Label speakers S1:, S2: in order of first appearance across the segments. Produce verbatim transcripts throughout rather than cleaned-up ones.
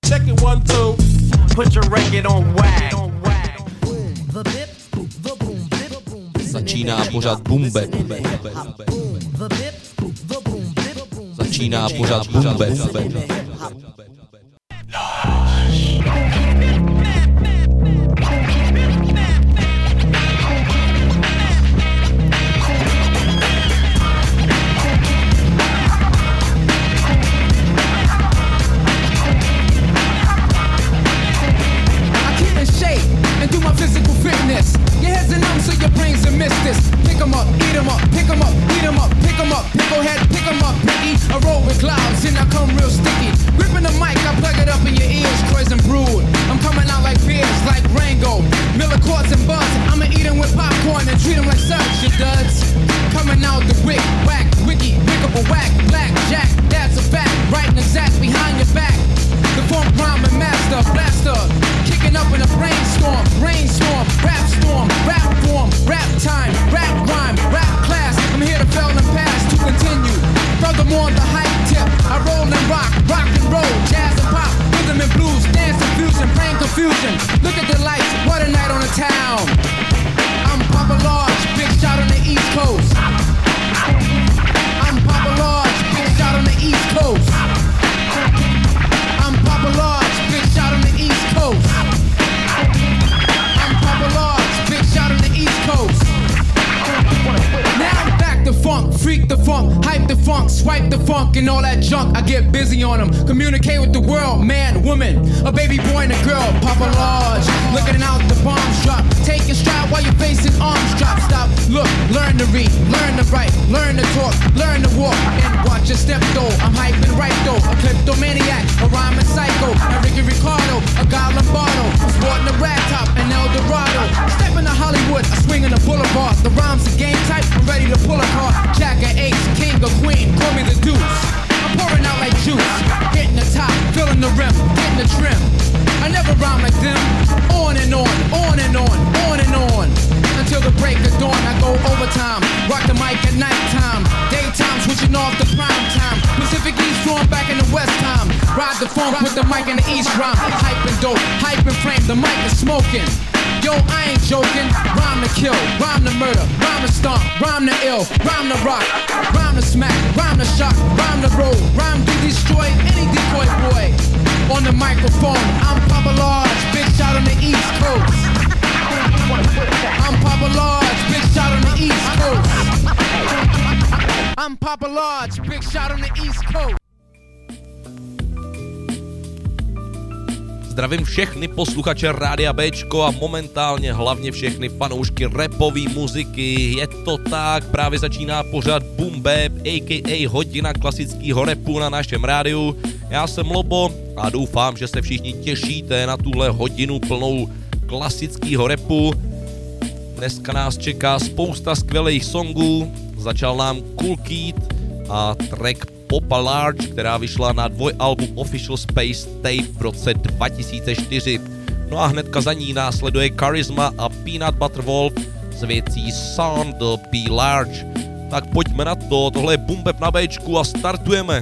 S1: Check it one, two. Put your record on wag.
S2: Začíná pořad Bumbe. Začíná pořad Bumbe.
S3: Physical fitness. Your head's a numb, so your brains are missed this. Pick 'em up, eat 'em up, pick 'em up, eat 'em up, pick 'em up, picklehead, pick 'em up, piggy. I roll with clouds and I come real sticky. Gripping the mic, I plug it up in your ears, Croix and Brood. I'm coming out like beers, like Rango, Miller Quartz and Buzz. I'ma eat 'em with popcorn and treat 'em like such, you duds. Coming out the wick, whack, wiki, pick up a whack, black, jack, that's a fact. Right and exact behind your back. The funk rhyming master, blaster. Kicking up in a brainstorm, brainstorm, rap storm, rap form, rap time, rap rhyme, rap class. I'm here to fail and pass to continue. Furthermore, the hype tip, I roll and rock, rock and roll, jazz and pop, rhythm and blues, dance and fusion, brain confusion. Look at the lights, what a night on the town. I'm Papa Large, big shot on the East Coast. I'm Papa Large, big shot on the East Coast. I'm Papa Large, big shot on the East Coast. I'm Papa Large, big shot on the East Coast. Now I'm back to funk, freak the funk, hype the funk, swipe the funk and all that junk. I get busy on them, communicate with the world, man, woman, a baby boy and a girl. Papa Large, looking out the bombs drop. Take your stride while you're facing arms drop. Stop, look, learn to read, learn to write, learn to talk, learn to walk, and watch your step though. I'm hyping right though, a kleptomaniac, a rhyming psycho, a Ricky Ricardo, a Guy Lombardo. I'm sporting a rag top, an El Dorado. Step into Hollywood, I swing in the boulevard. The rhymes are game type, I'm ready to pull a card. Jack or ace, king or queen, call me the deuce. I'm pouring out like juice, hitting the top, filling the rim, getting the trim. I never rhyme like them. On and on, on and on, on and on. Until the break of dawn, I go overtime. Rock the mic at nighttime. Daytime, switching off the prime time. Pacific East drawn back in the West time. Ride the funk with the mic in the East rhyme. Hype and dope, hype and frame, the mic is smoking. Yo, I ain't joking. Rhyme to kill, rhyme to murder, rhyme to stomp, rhyme to ill, rhyme to rock, rhyme to smack, rhyme to shock, rhyme to roll, rhyme to destroy any decoy boy. On the microphone, I'm Papa Large, big shot on the East Coast. I'm Papa Large, big shot on the East Coast. I'm Papa Large, big shot on the East Coast.
S2: Zdravím všechny posluchače Rádia Béčko a momentálně hlavně všechny fanoušky rapové muziky. Je to tak, právě začíná pořad Boom Bap, a k a hodina klasického rapu na našem rádiu. Já jsem Lobo a doufám, že se všichni těšíte na tuhle hodinu plnou klasického rapu. Dneska nás čeká spousta skvělých songů. Začal nám Cool Keat a track Papa Large, která vyšla na dvojalbum Official Space Tape v roce dva tisíce čtyři. No a hnedka za ní následuje Charisma a Peanut Butter Wolf s věcí Sound the Be Large. Tak pojďme na to, tohle je Boom Bap na Bčku a startujeme.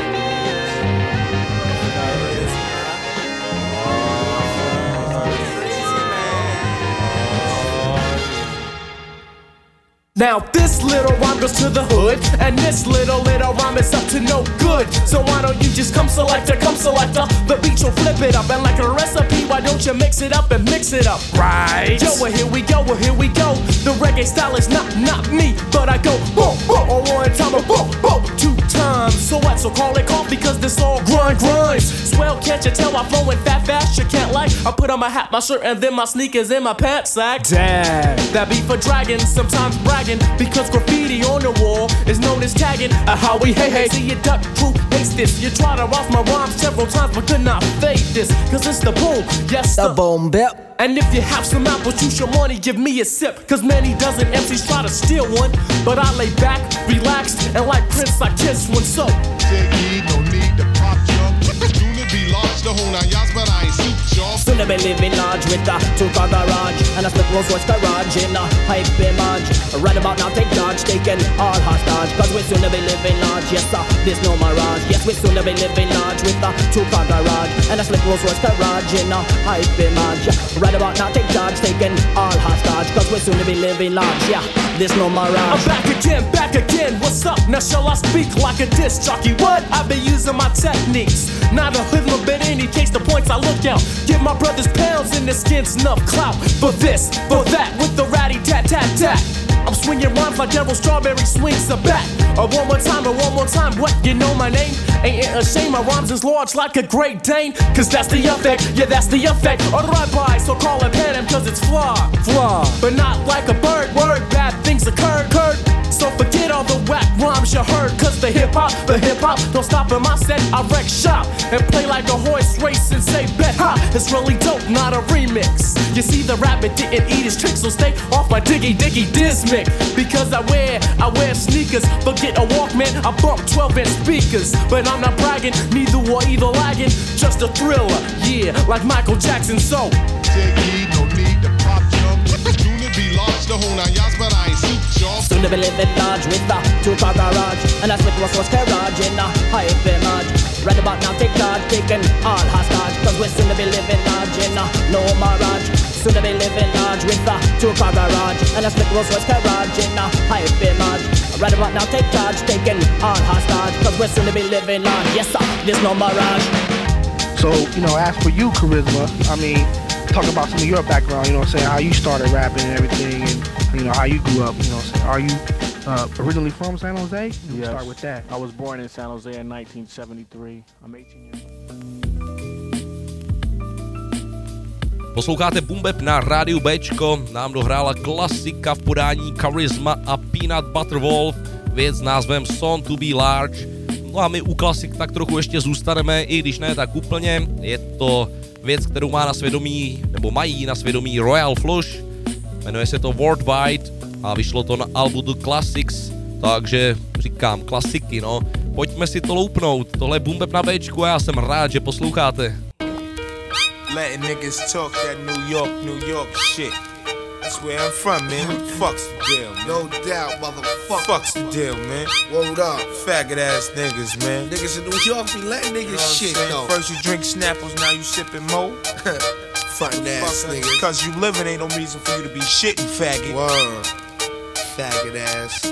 S4: Now this little rhyme goes to the hood, and this little little rhyme is up to no good. So why don't you just come selector, come selector? The beat will flip it up, and like a recipe, why don't you mix it up and mix it up? Right. Yo, well here we go, well here we go. The reggae style is not not me, but I go boom boom on one time, a boom boom two times. So what? So call it off because this all grind grinds. Swell, can't you tell I'm flowing fat fast? You can't like. I put on my hat, my shirt, and then my sneakers in my pants sack. Damn, that beat for dragons, sometimes bragging. Because graffiti on the wall is known as tagging. A how we hey hey. See you duck crew hates this. You try to off my rhymes several times but could not fade this. Cause it's the boom, yes the, the boom bap. And if you have some apples, you should money, give me a sip. Cause many dozen M Cs try to steal one. But I lay back, relaxed, and like Prince I kiss one. So
S5: no need to pop jump. Unit be large, the whole nine yards, but I ain't suit y'all.
S4: soon to be living large with a two-car garage and a split Rolls Royce garage in a hype image. Right about now, take charge, taking all hostage, cause we soon to be living large. Yes sir, there's no mirage. Yes, we soon to be living large with a two-car garage and a split Rolls Royce garage in a hype image. Right about now, take charge, taking all hostage, cause we soon to be living large. Yeah, there's no mirage. I'm back again, back again. What's up? Now shall I speak like a disc jockey? What? I've been using my techniques, not a hoodlum, but in any case the points I look out. Give my brothers pounds in the skins enough clout for this, for that, with the ratty tat tat tat. I'm swinging rhymes like Daryl Strawberry swings a bat. Or one more time, or one more time. What, you know my name? Ain't it a shame my rhymes is large like a Great Dane? Cause that's the effect, yeah that's the effect. Alright bye, so call it panem cause it's flaw, flaw. But not like a bird, word, bad things occurred, occurred. So forget all the whack rhymes you heard, cause the hip-hop, the hip-hop don't stop in my set. I wreck shop and play like a horse race and say bet ha. It's really dope, not a remix. You see the rabbit didn't eat his tricks, so stay off my diggy diggy dismic. Because I wear, I wear sneakers, forget a Walkman, I bump twelve inch speakers. But I'm not bragging, neither or either lagging, just a thriller, yeah, like Michael Jackson, so
S5: Diggy, no need to pop jump. Soon to be large, the whole nine yards, but I ain't suit y'all.
S4: Soon to be living large with a two-car garage and a split Rolls Royce garage in a hype image. Right about now, take charge, taking all hostage, cause we're soon to be living large in a no mirage. Soon to be living large with a two-car garage and a split Rolls Royce garage in a hype image. Right about now, take charge, taking all hostage, cause we're soon to be living large. Yes sir, there's no mirage.
S6: So, you know, as for you, Charisma, I mean, talk about some of your background, you know what I'm saying, how you started rapping and everything, and, you know, how you grew up, you know what I'm saying. Are you uh, originally from San Jose? Yes. Start with that.
S7: I was born in San Jose in nineteen seventy-three. I'm eighteen years old.
S2: Posloucháte Boom Bap na rádiu Bčko, nám dohrála klasika v podání Charisma a Peanut Butter Wolf, věc s názvem Son to be Large. No a my u klasik tak trochu ještě zůstaneme, i když ne tak úplně. Je to věc, kterou má na svědomí, nebo mají na svědomí Royal Flush. Jmenuje se to Worldwide a vyšlo to na albu The Classics, takže říkám klasiky, no. Pojďme si to loupnout, tohle je Boom Bap na Bčku a já jsem rád, že posloucháte.
S8: Letting niggas talk that New York, New York shit. That's where I'm from, man. Fuck's the deal, man.
S5: No doubt, motherfucker.
S8: Fuck's the deal, man.
S5: Word up.
S8: Faggot ass niggas, man.
S5: Niggas in New York be letting niggas
S8: You know what I'm
S5: shit,
S8: saying?
S5: though.
S8: First you drink Snapples, now you sipping Mo.
S5: Frontin' ass niggas.
S8: Cause you living ain't no reason for you to be shitting, faggot.
S5: Word. Faggot ass.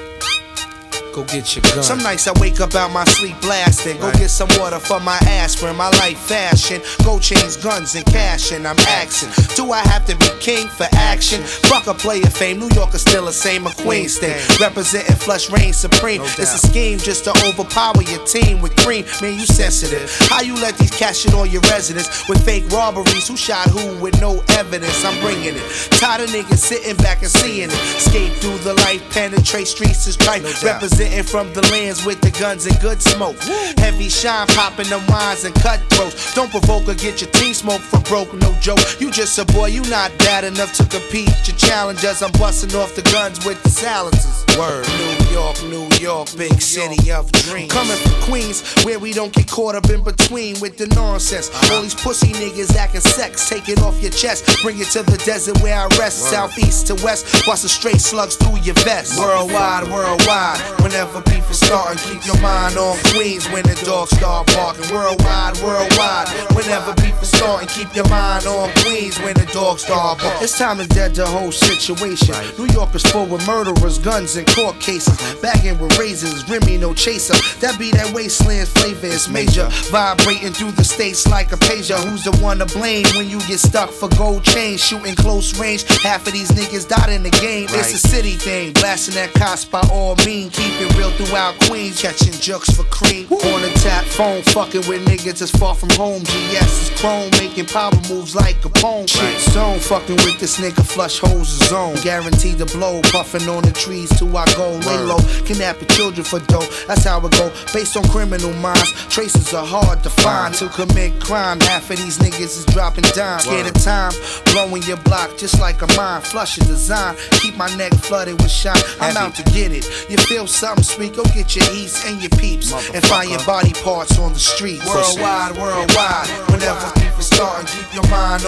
S5: Go get your gun.
S9: Some nights I wake up out my sleep blasting. Go get some water for my aspirin. My life fashion. Gold chains, guns, and cash. And I'm axing. Do I have to be king for action? Fuck a player fame. New York is still the same. A Queens thing. Representing flush reign supreme.
S5: No
S9: It's a scheme just to overpower your team with cream. Man, you sensitive. How you let these cats shit on your residence with fake robberies? Who shot who with no evidence? I'm bringing it. Tired of niggas sitting back and seeing it. Escape through the life, penetrate streets is tripe.
S5: No doubt.
S9: Represent from the lands with the guns and good smoke. Heavy shine popping the wines and cutthroats. Don't provoke or get your team smoked for broke, no joke. You just a boy, you not bad enough to compete. Your challengers, I'm busting off the guns with the silencers.
S5: Word. New York, New York, big city of dreams.
S9: Coming from Queens, where we don't get caught up in between with the nonsense.
S5: Uh-huh.
S9: All these pussy niggas acting sex, take it off your chest. Bring it to the desert where I rest.
S5: Word.
S9: Southeast to west, busting straight slugs through your vest.
S5: Worldwide, worldwide. Whenever beef is starting, keep your mind on Queens when the dogs start barking. Worldwide, worldwide. Whenever beef is starting, keep your mind on Queens when the dogs start barking.
S9: It's time to dead the whole situation.
S5: Right.
S9: New York is full with murderers, guns, and court cases. Bagging with razors, Remy no chaser. That be that wasteland flavor, it's major. Vibrating through the states like a pager. Who's the one to blame when you get stuck for gold chains? Shooting close range, half of these niggas died in the game.
S5: Right.
S9: It's a city thing, blasting that cops by all means. Keep it real throughout Queens, catching jokes for cream. On the tap phone, fucking with niggas that's far from home. G S is chrome, making power moves like Capone. Shit zone, fucking with this nigga, flush holes is zone. Guaranteed to blow, puffing on the trees till I go. Lay low, kidnapping children for dough, that's how it go. Based on criminal minds, traces are hard to find. To commit crime, half of these niggas is dropping dimes. Scared of time, blowing your block just like a mine. Flushing design, keep my neck flooded with shine. I'm out to get it. You feel something sweet, go get your eats and your peeps and find your body parts on the street.
S5: Worldwide, worldwide. Whenever beef is starting, keep your mind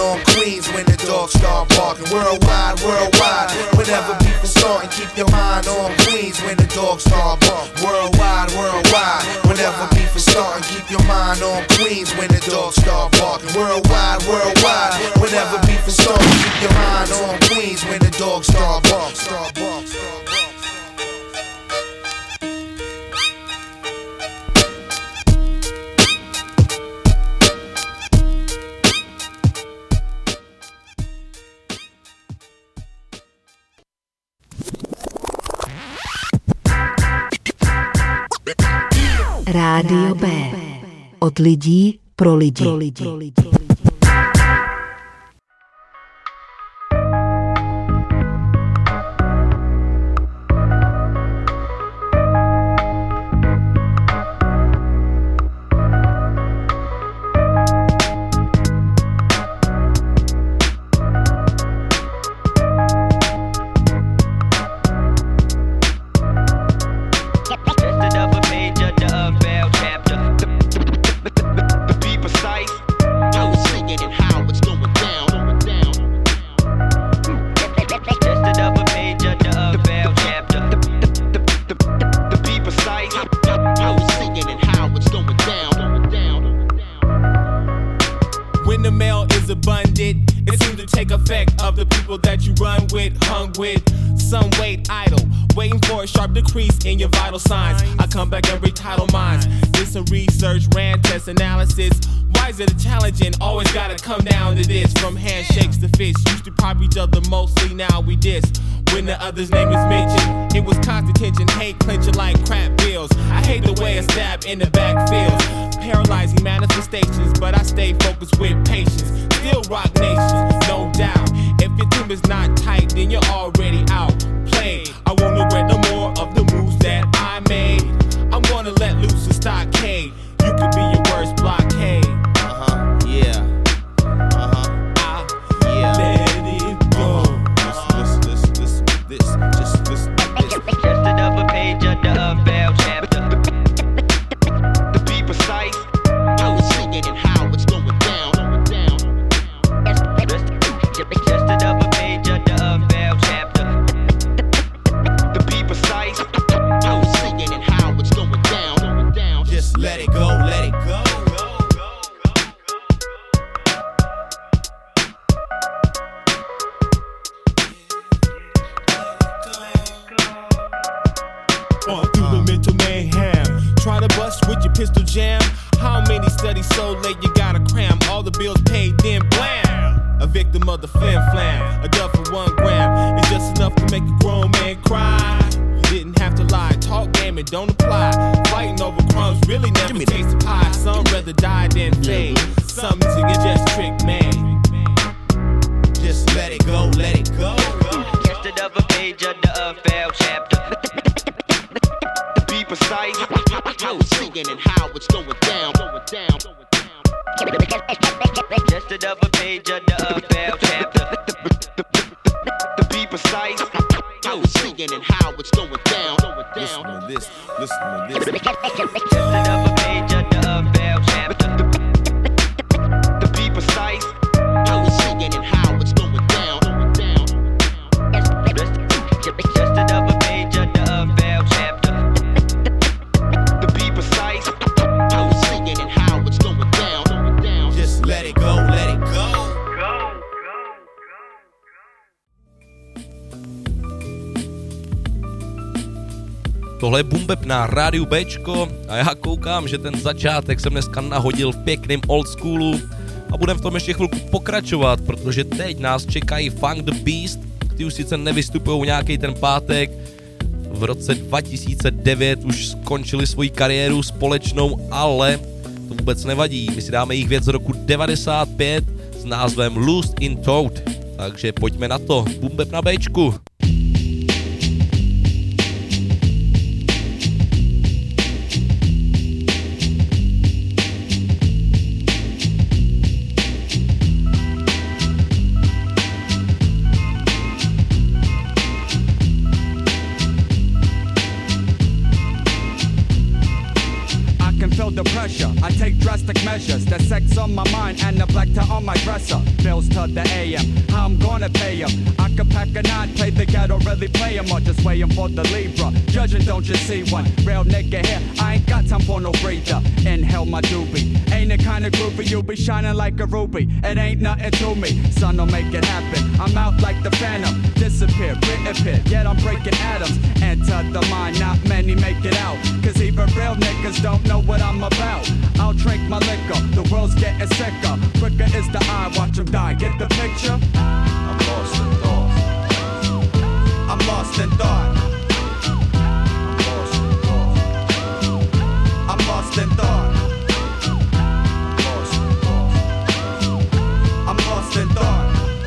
S5: barking. Worldwide, worldwide. Whenever beef is starting, keep your mind on Queens when the dogs start barking. Worldwide, worldwide. Whenever beef is starting, keep your mind on Queens when the dogs start barking. Worldwide, worldwide. Whenever beef is starting, keep your mind on Queens when the dogs start barking. Start barking. Start barking.
S10: Rádio B. Od lidí pro lidi. Pro lidi. Pro lidi.
S11: Analysis. Why is it a challenge and always gotta come down to this? From handshakes to fists, used to pop each other mostly, now we diss. When the other's name is mentioned, it was constant tension, hate clenching like crap bills. I hate the way a stab in the back feels. Paralyzing manifestations, but I stay focused with patience. Still rock nations, no doubt. If your team is not tight, then you're already out. Played. I won't regret no more of the moves that I made. I'm gonna let loose a stockade. You could be your worst blockade.
S12: Uh-huh, yeah. Uh-huh,
S11: I
S12: yeah.
S11: Let it go.
S12: Uh-huh. Listen, listen, listen, listen, this. Just listen to this.
S13: Just another page of the unveiled chapter.
S12: To be precise, I was singing and how it's going down. Going down.
S13: Just another page of the unveiled chapter.
S12: To be precise, I was singing and how it's going down. Going down.
S11: Just let it go, let it go. On through the mental mayhem. Try to bust with your pistol jam. How many studies so late you gotta cram? All the bills paid, then blam. A victim of the flim flam. A dub for one gram is just enough to make a grown man cry. You didn't have to lie. Talk game and don't apply. Fighting over crumbs really never taste the pie. Some rather die than fade. Some to get just trick made. Just let it go, let it go.
S13: Just another page of the unveiled chapter.
S12: To be precise, I was singing and how it's going down. Going down.
S13: Just another page of the unveiled chapter.
S12: To be precise, I was singing and how it's going down. Going down.
S11: Listen to this, listen to this.
S13: Just another page of the unveiled chapter.
S12: To be precise, I was singing and how it's going down. Going down.
S13: Just another page of the unveiled chapter.
S12: To be precise, I was singing and how it's going down. Going down.
S11: Just let it go, let it go.
S2: Tohle je Boom Bap na rádiu Bčko a já koukám, že ten začátek jsem dneska nahodil v pěkném old schoolu a budem v tom ještě chvilku pokračovat, protože teď nás čekají Funk the Beast, ty už sice nevystupujou nějaký ten pátek, v roce dva tisíce devět už skončili svoji kariéru společnou, ale to vůbec nevadí, my si dáme jejich věc z roku devadesát pět s názvem Lost in Thought, takže pojďme na to, Boom Bap na Bčku.
S14: The pressure, I take drastic measures. The sex on my mind and the black tie on my dresser. Bills to the A M, how I'm gonna pay 'em. I could pack a nine, play the ghetto, really play 'em, or just waiting for the Libra. Judging, don't you see one? Real nigga here, I ain't got time for no breather. Inhale my doobie. Ain't the kind of groupie you be shining like a ruby. It ain't nothing to me, son, don't make it happen. I'm out like the Phantom, disappear, reappear, yet I'm breaking atoms. Enter the mind, not many make it out. Cause even real niggas don't know what I'm about. I'll drink my liquor, the world's getting sicker. Quicker is the eye, watch them die, get the picture? I'm lost in thought. I'm lost in thought. I'm lost in thought. I'm lost in thought.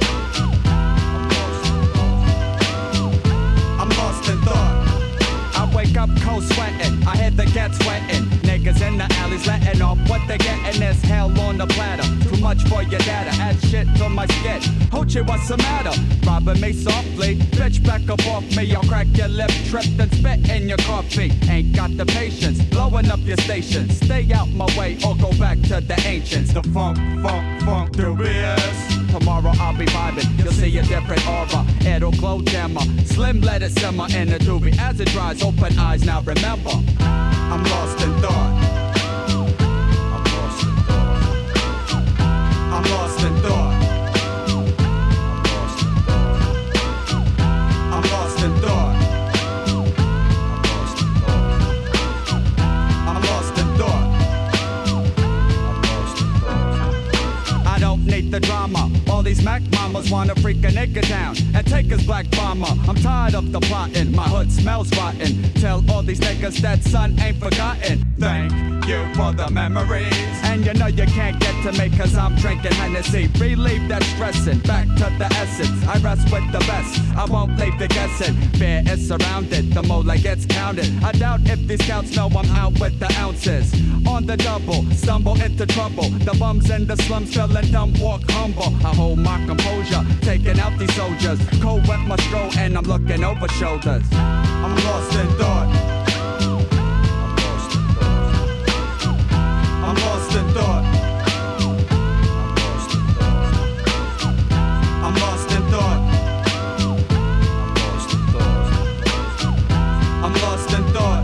S14: I'm lost in thought. I wake up cold sweating, I hear the gas sweating. Niggas in the alleys letting off what they getting. There's hell on the platter, too much for your data. Add shit to my skit, Hoochie, what's the matter? Robbing me softly, bitch back up off me. I'll crack your lip, trip, then spit in your coffee. Ain't got the patience, blowing up your station. Stay out my way or go back to the ancients. The funk, funk, funk, dubious. Tomorrow I'll be vibing, you'll see a different aura. It'll glow dimmer, slim let it simmer in the doobie. As it dries, open eyes, now remember, I'm lost in thought. I'm lost in thought. I'm lost in thought. I'm lost in thought. I'm lost in thought. I don't need the drama. All these Mac mamas wanna freak a nigga down and take his black bomber. I'm tired of the plotting, my hood smells rotten. Tell all these niggas that son ain't forgotten. Thank you for the memories. And you know you can't get to me cause I'm drinking Hennessy. Relieve that stressing, back to the essence. I rest with the best, I won't leave the guessing. Fear is surrounded, the mole gets counted. I doubt if these scouts know I'm out with the ounces. On the double, stumble into trouble. The bums in the slums feeling dumb, walk humble. I hold my composure, taking out these soldiers. Cold wet my stroll and I'm looking over shoulders. I'm lost in thought. I'm lost in thought. I'm lost in thought. I'm lost in thought.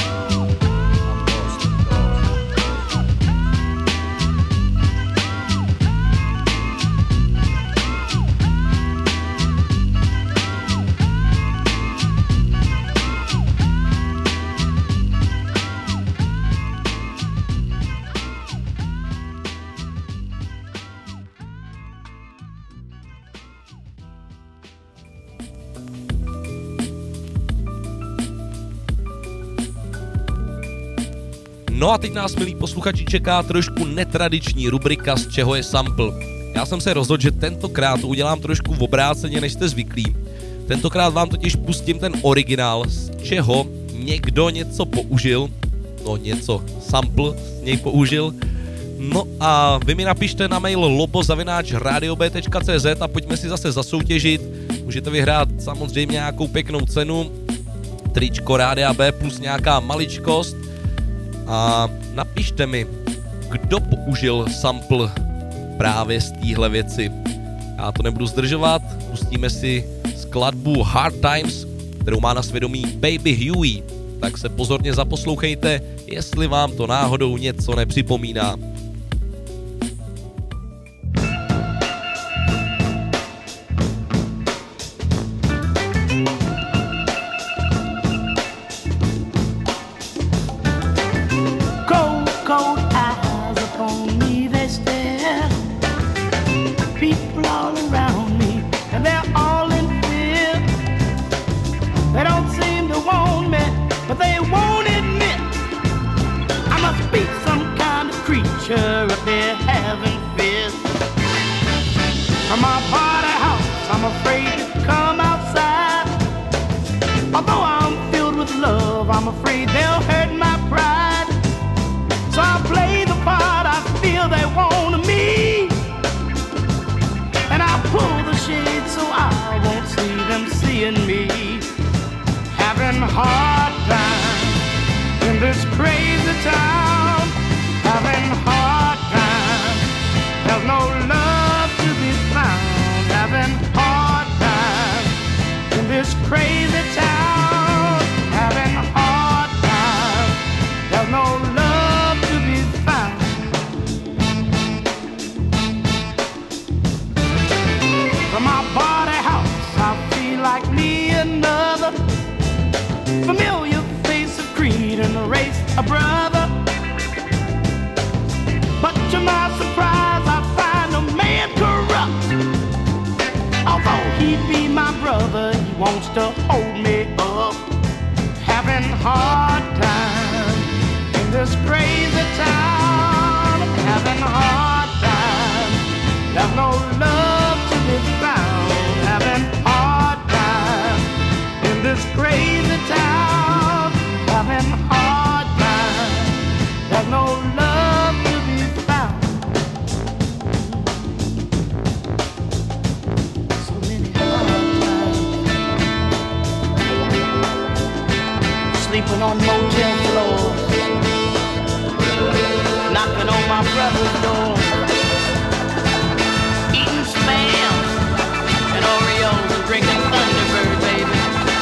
S2: No a teď nás, milí posluchači, čeká trošku netradiční rubrika Z čeho je sample. Já jsem se rozhodl, že tentokrát to udělám trošku v obráceně, než jste zvyklí. Tentokrát vám totiž pustím ten originál, z čeho někdo něco použil, no něco, sample z něj použil. No a vy mi napište na mail lobo zavináč radio b tečka c z a pojďme si zase zasoutěžit. Můžete vyhrát samozřejmě nějakou pěknou cenu, tričko Rádia B plus nějaká maličkost. A napište mi, kdo použil sample právě z téhle věci. Já to nebudu zdržovat, pustíme si skladbu Hard Times, kterou má na svědomí Baby Huey. Tak se pozorně zaposlouchejte, jestli vám to náhodou něco nepřipomíná.
S3: Hard time in this crazy town, having hard
S15: a brother. But to my surprise, I find a man corrupt. Although he be my brother, he wants to hold me up. Having hard time in this crazy town. Having hard time. There's no love to be found. Having hard time in this crazy town. Having hard time. There's no love to be found. So many hard times. Sleeping on motel floors. Knocking on my brother's door. Eating Spam and Oreos and drinking Thunderbird, baby.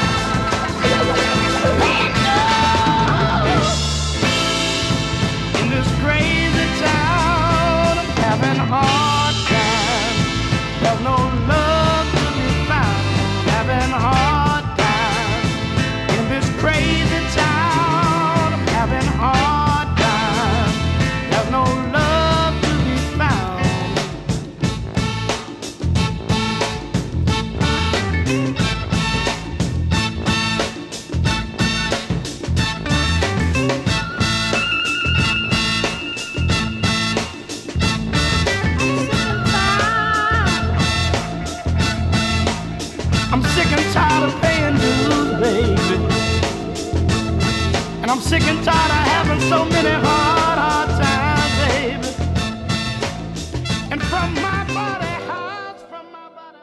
S15: In this crazy town, I'm having a hard time. There's no love to be found. Having a hard time. In this crazy town, I'm having a hard time. There's no love to be found. I'm sick and tired of paying dues, baby. And I'm sick and tired of having so many hard, hard times, baby. And from my body, hearts from my body,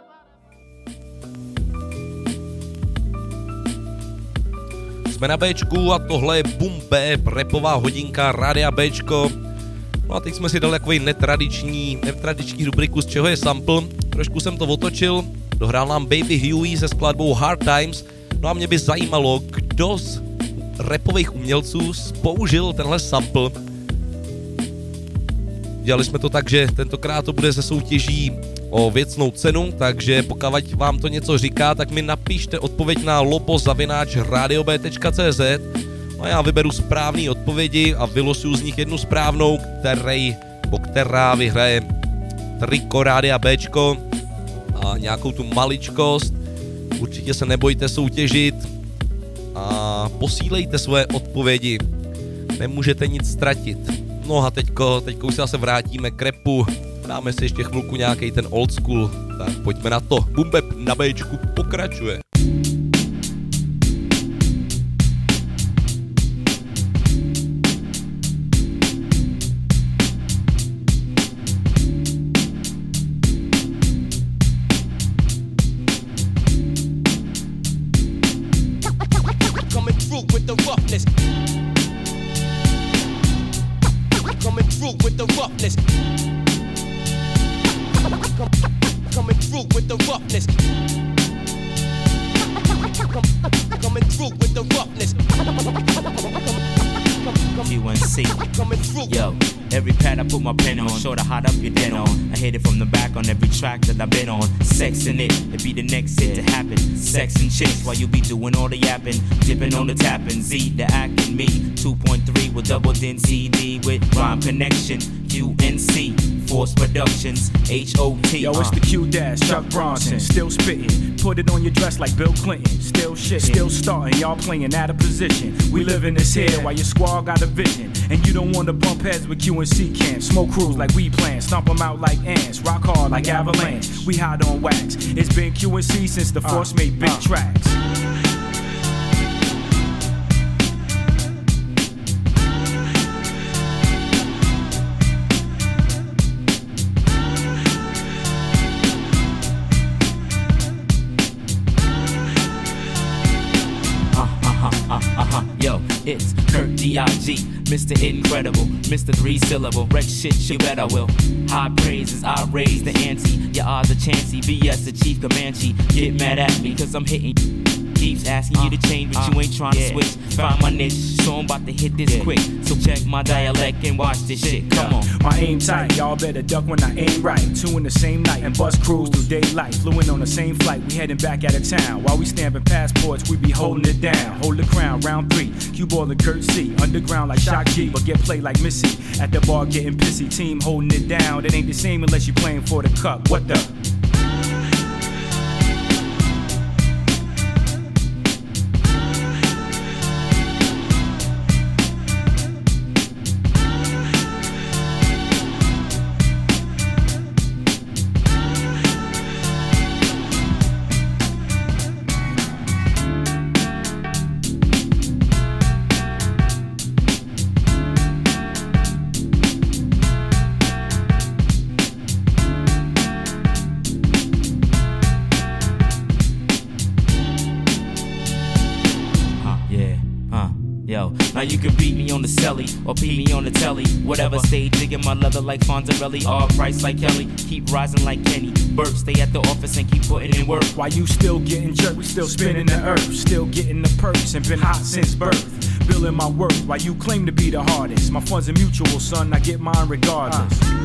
S2: Jsme na Bčku a tohle je Boom Bap, rapová hodinka Rádia Bčko. No a teď jsme si dali takový netradiční, netradiční rubriku, z čeho je sample. Trošku jsem to otočil, dohrál nám Baby Huey se skladbou Hard Times. No a mě by zajímalo, kdo z rapových umělců použil tenhle sample. Dělali jsme to tak, že tentokrát to bude ze soutěží o věcnou cenu, takže pokud vám to něco říká, tak mi napište odpověď na lobo zavináč radiob tečka cé zet a já vyberu správné odpovědi a vylosuju z nich jednu správnou, který, po která vyhraje triko Rádia Bčko a nějakou tu maličkost. Určitě se nebojte soutěžit a posílejte svoje odpovědi. Nemůžete nic ztratit. No a teďko, teďko už se zase vrátíme k rapu. Dáme si ještě chvilku nějaký ten old school. Tak pojďme na to. Boom Bap na Bčku pokračuje.
S12: Coming through with the roughness. Coming through with the roughness. Coming through with the roughness. Coming through with the roughness.
S16: U N C. Yo, every pad I put my pen on, sure to hot up your dead on. I hit it from the back on every track that I've been on. Sex in it, it be the next hit to happen. Sex and chicks while you be doing all the yapping. Dipping on the tapping, Z the acting, me two point three with double din C D with rhyme connection. U N C, Force Productions, H O T.
S17: Yo, it's the Q-Dash, Chuck Bronson, still spitting. Put it on your dress like Bill Clinton. Still shit, still starting, y'all playing out of position. We live in this here while your squad got a vision. And you don't want to bump heads with Q and C camps. Smoke crews like we plan, stomp them out like ants. Rock hard like Avalanche, we hide on wax. It's been Q and C since the Force uh, made big uh. tracks.
S16: Yo, it's Kurt D I G, Mister Incredible, Mister Three Syllable, wreck shit, you bet I will. High praises, I raise the ante. Your odds are chancy, B S the chief Comanche. Get mad at me, cause I'm hitting keeps asking you to change, but you ain't trying to switch. Find my niche, so I'm about to hit this quick. So check my dialect and watch this shit. Come on.
S17: My aim tight, y'all better duck when I aim right. Two in the same night and bus cruise through daylight. Flew in on the same flight, we heading back out of town. While we stamping passports, we be holding it down. Hold the crown, round three. Cue ball and Kurt C. Underground like Shock G, but get played like Missy. At the bar getting pissy, team holding it down. It ain't the same unless you playing for the cup. What the?
S16: Now you can beat me on the celly or beat me on the telly. Whatever, stay digging my leather like Fonzarelli. All price like Kelly, keep rising like Kenny Burke. Stay at the office and keep putting in work.
S17: While you still getting jerked, we still spinning the earth. Still getting the perks and been hot since birth. Building my worth while you claim to be the hardest. My funds are mutual, son, I get mine regardless. Uh.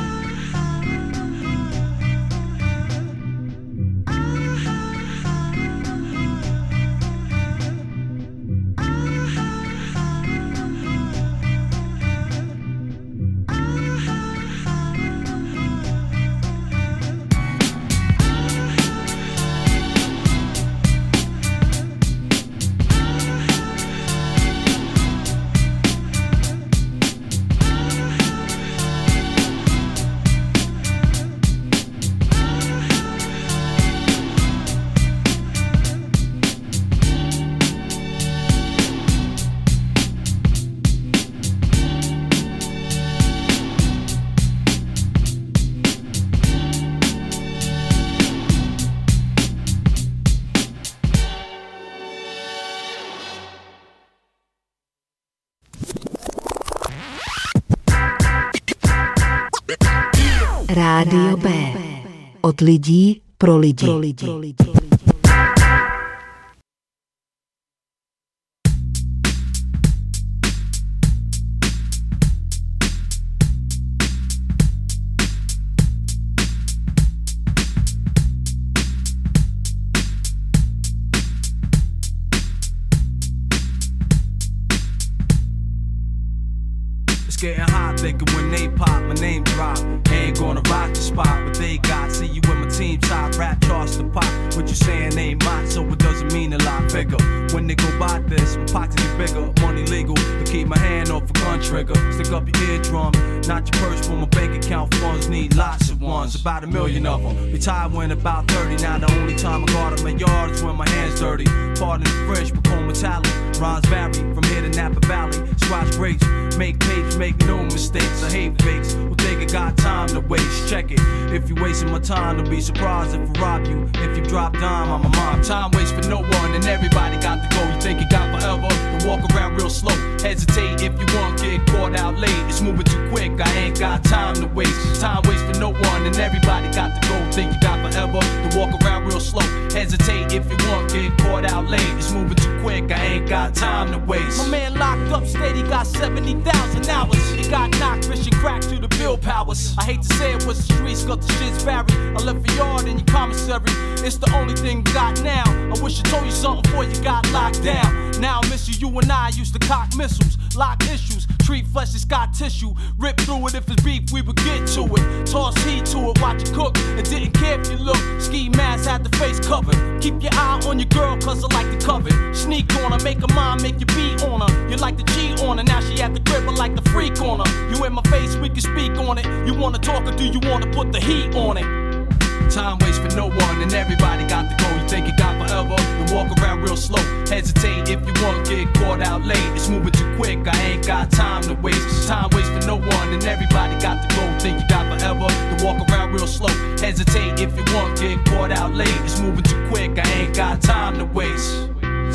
S10: Rádio B. Od lidí pro lidi. Pro lidi. Pro lidi.
S18: Getting hot, thinking when they pop, my name drop. Ain't gonna rock the spot, but they got. See you with my team top, rap charts to pop. What you saying ain't mine, so it doesn't mean a lot bigger. When they go by this, my pockets get bigger. Money legal, to keep my hand off a gun trigger. Stick up your eardrum, not your purse for my bank account funds. Need lots of ones, about a million of them. Retired when about thirty, now the only time I guard up my yard is when my hands dirty. Pardon the French, become metallic. Rhymes vary from here to Napa Valley. Scratch grapes, make tapes, make no mistakes. I hate fakes who think I got time to waste. Check it, if you wasting my time, don't be surprised if I rob you. If you drop dime, I'm a mob. Time waits for no one and everybody got to go. You think you got forever to walk around real slow. Hesitate if you want, get caught out late. It's moving too quick, I ain't got time to waste. Time waits for no one and everybody got to go. Think you got forever to walk around real slow. Hesitate if you want, get caught out late. It's moving too quick, I ain't got time to waste.
S1: My man locked up, steady, got seventy thousand hours. He got knocked, fishing crack to the bill powers. I hate to say it was the streets, got the shit's buried. I left a yard in your commissary. It's the only thing we got now. I wish I told you something before you got locked down. Now I miss you, you and I used to cock missiles, lock issues, treat flesh as scar tissue. Rip through it if it's beef, we would get to it. Toss heat to it, watch it cook, and didn't care if you look. Ski mask had the face covered. Keep your eye on your girl, cause I like to covet. Sneak on her, make her mind, make you beat on her. You like to cheat on her, now she at the crib, I like the freak on her. You in my face, we can speak on it. You wanna talk or do you wanna put the heat on it?
S18: Time waits for no one and everybody got to go. You think you got forever, then walk around real slow. Hesitate if you want, get caught out late. It's moving too quick, I ain't got time to waste. Time waits for no one and everybody got to go. Think you got forever, then walk around real slow. Hesitate if you want, get caught out late. It's moving too quick, I ain't got time to waste.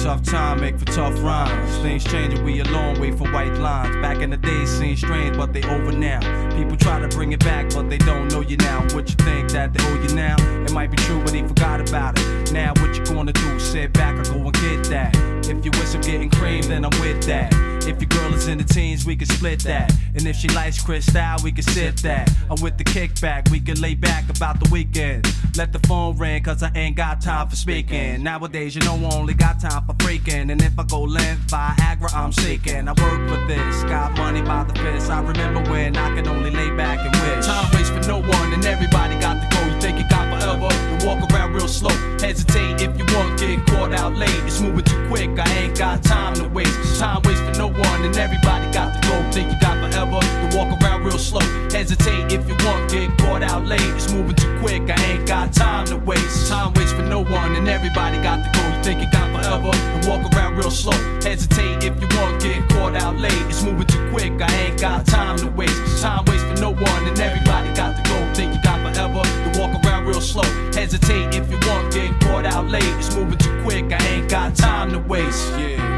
S18: tough time make for tough rhymes. Things changing, we a long way from white lines. Back in the days seemed strange, but they over now. People try to bring it back, but they don't know you now. What you think that they owe you now? It might be true, but they forgot about it. Now what you gonna do? Sit back or go and get that. If you wish I'm getting cream, then I'm with that. If your girl is in the teens, we can split that. And if she likes Cristal, we can sip that. I'm with the kickback, we can lay back about the weekend. Let the phone ring, cause I ain't got time for speaking. Nowadays, you know I only got time for freaking. And if I go length, Viagra, I'm seeking. I work for this, got money by the fist. I remember when I could only lay back and wish. Time waits for no one, and everybody got to go. You think you got forever, you walk around real slow. Hesitate if you want, get caught out late. It's moving too quick, I ain't got time to waste. Time waits for no one, and everybody got to go. Think you got forever, you walk around real slow. Hesitate if you want, get caught out late. It's moving too quick, I ain't got time to waste. Time waits for no one, and everybody got to go. You think you got forever, you walk around real slow. Hesitate if you want, get caught out late. It's moving too quick, I ain't got time to waste. Time waits for no one, and everybody got to go. Think you got forever, you walk around real slow. Hesitate if you want, get caught out late. It's moving too quick, I ain't got time to waste. Yeah.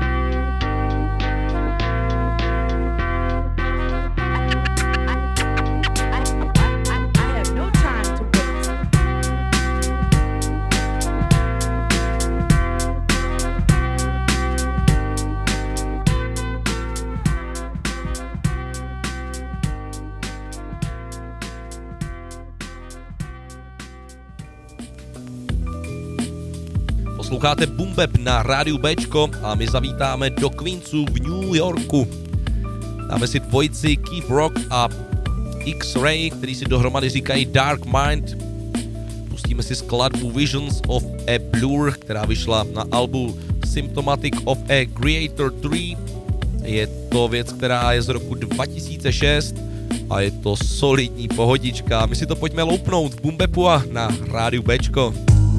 S2: Posloucháte Boom Bap na rádiu Bčko a my zavítáme do Queensu v New Yorku. Dáme si dvojici Keith Rock a X-Ray, který si dohromady říkají Dark Mind. Pustíme si skladbu Visions of a Blur, která vyšla na albu Symptomatic of a Creator tři. Je to věc, která je z roku dva tisíce šest a je to solidní pohodička. My si to pojďme loupnout v Boom Bapu a na rádiu Bčko.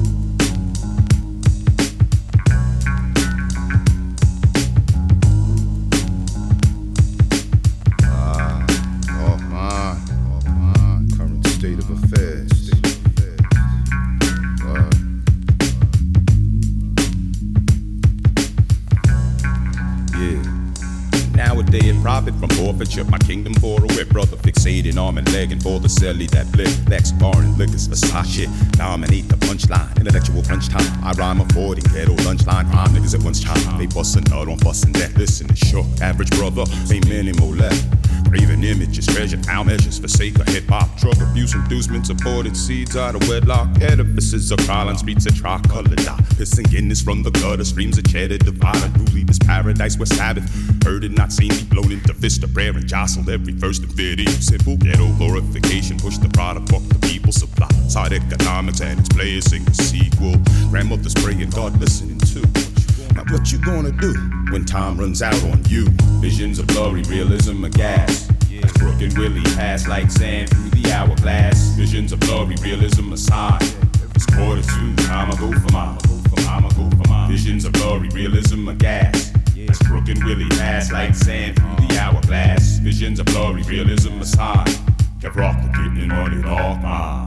S19: Profit from forfeiture, my kingdom for a whip, brother fixated arm and leg, and for the celly that blip, Lex foreign liquors, Versace, dominate the punchline, intellectual crunch time. I rhyme a forty ghetto lunchline, crime niggas at once time. They bustin' nut on bustin' death. Listen, it's short, average brother, ain't many more left. Craving images, treasure, how measures, forsake a hip hop, drug abuse, inducements, aborted seeds out of wedlock, edifices of Carlin streets of tricolor dot, pissing Guinness from the gutter, streams of cheddar, divine, unruly this paradise where Sabbath, heard it not seen me blown into fist of prayer and jostled every first of it. Simple ghetto glorification, push the product, fuck the people supply, side economics and its players sing the sequel, grandmother's praying, God listening too. Now what you gonna do when time runs out on you? Visions of blurry realism of gas. As Brooke and Willie pass like sand through the hourglass. Visions of blurry realism aside. It's quarter two, time I go for mine. Time I go for mine. Visions of blurry realism of gas. As Brooke and Willie pass like sand through the hourglass. Visions of blurry realism aside. Kept rockin' getting money dog mine.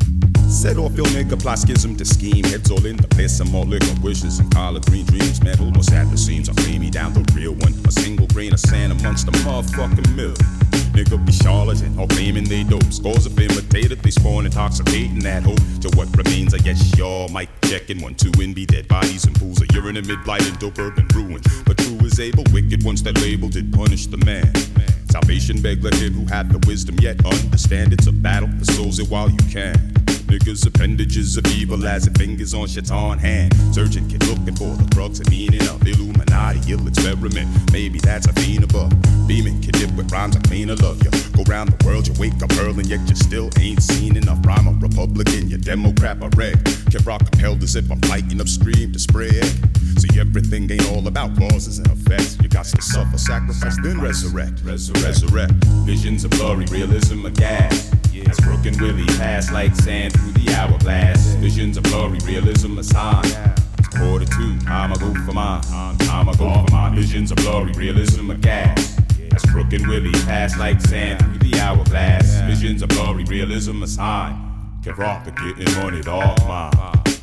S19: Set off your nigga, plot schism to scheme. Heads all in the place, some more liquor wishes and collard green dreams. Metal, most at the seams, I lay me down the real one. A single grain of sand amongst the motherfucking mill. Nigga be charlatan, all claiming they dope. Scores of imitated, they spawn intoxicating that hope. To what remains, I guess y'all mic checking. One, two, and be dead bodies and pools of urine and mid-blight and dope urban ruin. But true is able, wicked ones that label did punish the man. Salvation beg let him who had the wisdom yet understand it's a battle for souls it while you can. Niggas appendages of evil as if fingers on shaitan hand. Surgeon kid looking for the crux and meaning of Illuminati. Ill experiment, maybe that's a fiend above. Beaming kid dip with rhymes I clean, I love you. Go round the world, you wake up early, yet you still ain't seen enough. Rhyme a Republican, you Democrat, a reg. Kid rock compelled as if I'm fighting upstream to spread. See, everything ain't all about causes and effects. You got to suffer, sacrifice, then resurrect. Resurrect, resurrect. Visions of blurry realism of gas. As Brooke and Willie pass like sand through the hourglass. Visions of blurry realism aside. It's quarter two, time I go for mine. Time I go for mine. Visions of blurry realism of gas. As Brooke and Willie pass like sand through the hourglass. Visions of blurry realism aside. Kept rockin' getting money, dog mine.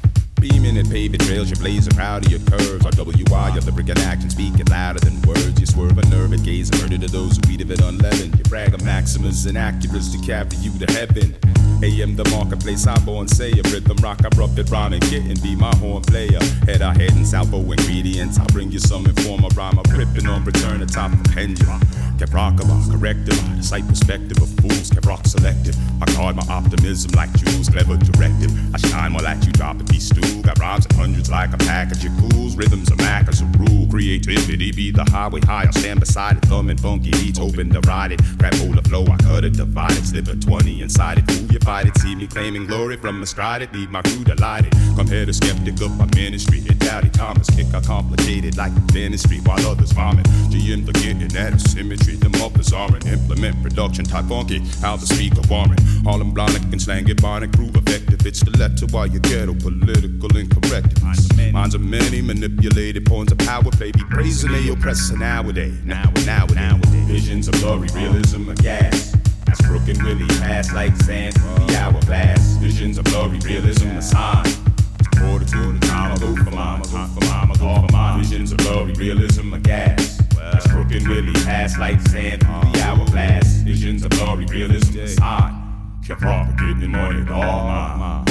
S19: beaming and paving trails, you blaze proud of your curves. R W I, your lyric and action speaking louder than words. You swerve a nerve and gaze and murder to those who eat of it unleavened. You brag of maximus and accuracy to carry you to heaven. A M the marketplace, I'm born say a rhythm rock, I rough it, rhyme and get and be my horn player. Head I head and salvo ingredients, I'll bring you some informer rhyme. I'm ripping on return atop the pendulum. Kept rockable, corrective, the sight perspective of fools, kept rock selective. I guard my optimism like Jews, clever directive. I shine while at you drop and be stew. Got rhymes in hundreds like a package of cools. Rhythms are Mac as a rule. Creativity be the highway high. I'll stand beside it, thumbing funky beats, hoping to ride it. Grab hold of flow, I cut it, divide it, slip a twenty inside it. Fool, you fight it, see me claiming glory from astride it. Leave my crew delighted. Come here to skeptic of my ministry. Hit Doubty Thomas, kick I complicated like dentistry while others vomit. G M forgetting that it's symmetry. The mufflers are an implement production type funky. How the speaker warrant. Harlem Blonic and slang it, Bonic, prove effective. It's the letter while you ghetto political incorrectness. Minds of many manipulated pawns of power, baby. Praising they oppressor nowadays. Now and now and nowadays. Visions of glory, realism, a gas. That's Crooked Willie, pass like sand through the hourglass. Visions of glory, realism, a sign. Quarter to the time, I go for mama, go for mama, go for mama. Visions of glory, realism, a gas. That's Crooked Willie, pass like sand through the hourglass. Visions of glory, realism, a sign. Kept propagating money, all mine.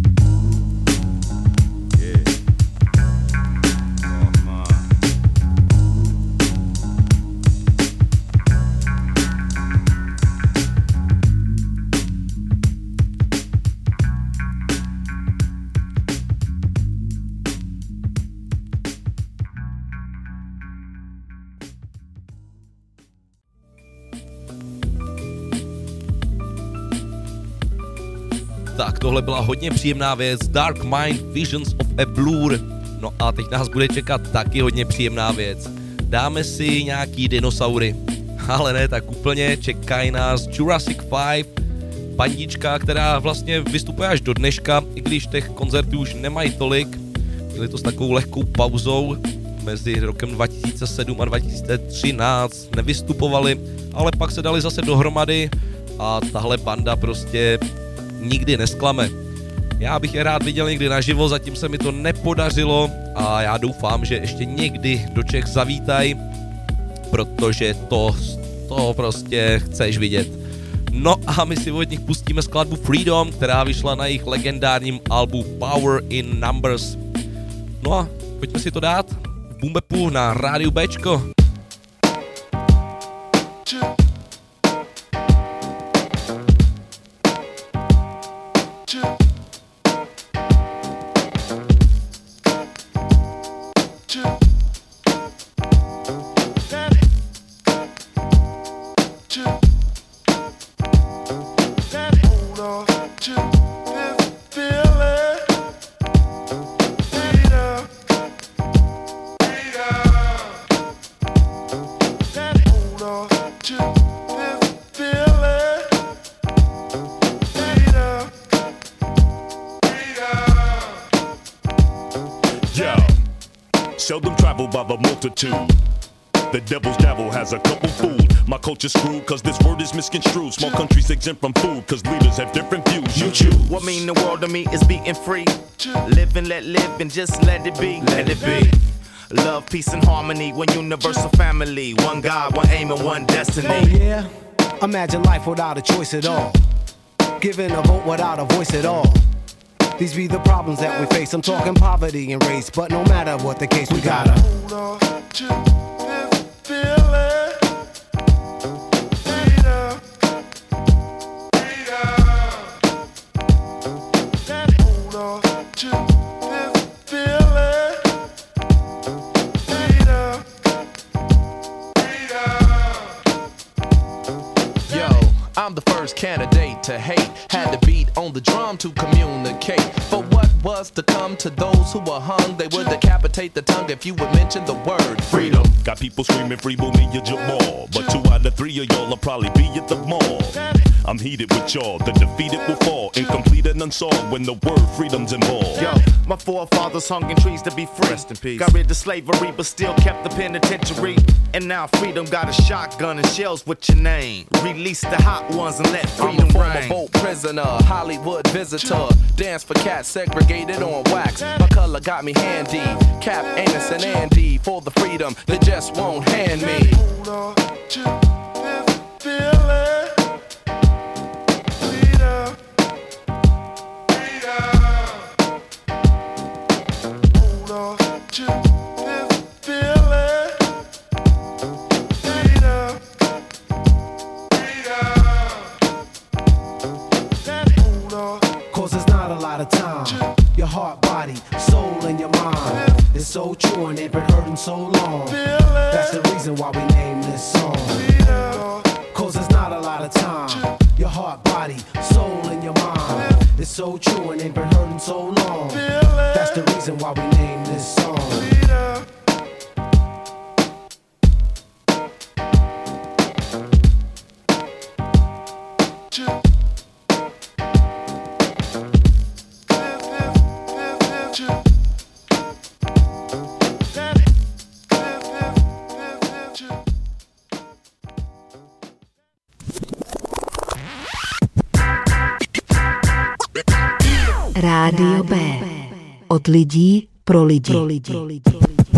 S2: Tak tohle byla hodně příjemná věc, Dark Mind Visions of a Blur. No a teď nás bude čekat taky hodně příjemná věc. Dáme si nějaký dinosaury, ale ne tak úplně, čekají nás Jurassic five, bandička, která vlastně vystupuje až do dneška, i když těch koncertů už nemají tolik. Měli to s takovou lehkou pauzou, mezi rokem dva tisíce sedm a dva tisíce třináct nevystupovali, ale pak se dali zase dohromady a tahle banda prostě nikdy nesklame. Já bych je rád viděl někdy naživo, zatím se mi to nepodařilo a já doufám, že ještě někdy do Čech zavítaj, protože to, to prostě chceš vidět. No a my si od nich pustíme skladbu Freedom, která vyšla na jejich legendárním albu Power in Numbers. No a pojďme si to dát v Boom Bapu na rádiu Bčko.
S20: Seldom traveled by the multitude. The devil's devil has a couple food. My culture's screwed cause this word is misconstrued. Small countries exempt from food cause leaders have different views. You choose.
S21: What mean the world to me is being free. Live and let live and just let it be. Let it be. Love, peace and harmony. One universal family. One God, one aim and one destiny.
S22: Oh yeah? Imagine life without a choice at all. Giving a vote without a voice at all. These be the problems that we face. I'm talking poverty and race, but no matter what the case, we gotta hold on to this feeling. Freedom, freedom. Hold on to this feeling. Freedom, freedom.
S23: Yo, I'm the first candidate to hate. Had to beat on the drum to communicate. For what was to come to those who were hung, they were decapitated. levitate the tongue if you would mention the word freedom.
S20: Got people screaming free Mumia Jamal, but two out of three of y'all will probably be at the mall. I'm heated with y'all, the defeated will fall, incomplete and unsolved when the word freedom's involved.
S21: Yo, my forefathers hung in trees to be free. Rest in peace. Got rid of slavery, but still kept the penitentiary. And now freedom got a shotgun and shells with your name. Release the hot ones and let freedom
S23: I'm a former
S21: reign.
S23: boat prisoner, Hollywood visitor. Dance for cats segregated on wax. My color got me handy. Cap, Anus, and Andy for the freedom they just won't hand me.
S4: Hold on to this feeling. Freedom. Freedom. Hold on to this feeling. Freedom. Freedom. Hold on.
S22: Cause it's not a lot of time. Your heart, body, soul, and your mind. It's so true and they've been hurting so long. That's the reason why we named this song. Cause it's not a lot of time. Your heart, body, soul, and your mind. It's so true and they've been hurting so long. That's the reason why we named this song.
S10: Rádio B. Od lidí pro lidi. Pro lidi. Pro lidi.